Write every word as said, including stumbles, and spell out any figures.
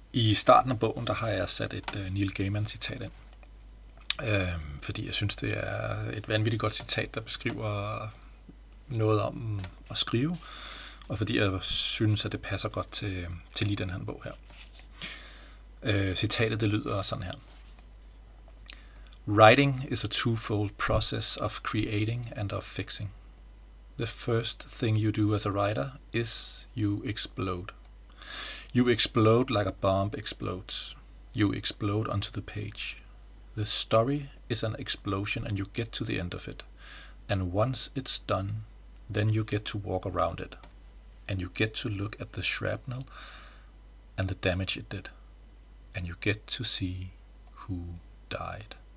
I starten af bogen, der har jeg sat et uh, Neil Gaiman-citat ind. Øh, fordi jeg synes, det er et vanvittigt godt citat, der beskriver noget om at skrive, og fordi jeg synes, at det passer godt til, til lige den her bog her. Øh, citatet, det lyder sådan her. Writing is a twofold process of creating and of fixing. The first thing you do as a writer is you explode. You explode like a bomb explodes. You explode onto the page. The story is an explosion and you get to the end of it. And once it's done, then you get to walk around it. And you get to look at the shrapnel and the damage it did. And you get to see who died.